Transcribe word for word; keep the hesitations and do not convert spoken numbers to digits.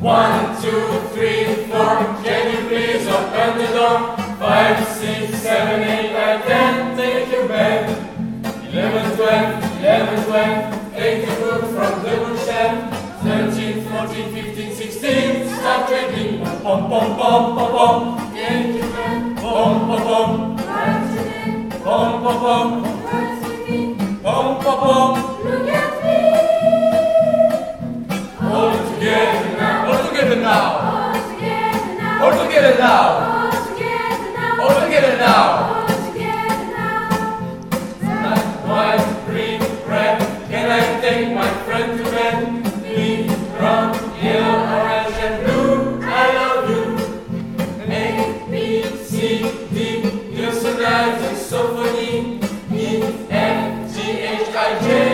One, two, three, four. Can you please open the door? Five, six, seven, eight, nine, ten. Take your bed. Eleven, twelve, eleven, twelve. Take the book from the bookshelf. Thirteen, fourteen, fifteen, sixteen. Start reading. Pom pom pom pom pom. Take your bed. Pom pom pom. What's your name? Pom pom pom. What's your name? Pom pom pom. Look at me. All together now. All together now. All together now. All together now. All together now. All together now. All together now. Night, wine, green, red. Can I take my friend to bed? Pink, brown, yellow, orange, and blue. I love you. A, B, C, D. You're so nice and so funny. E, F, G, H, I, J.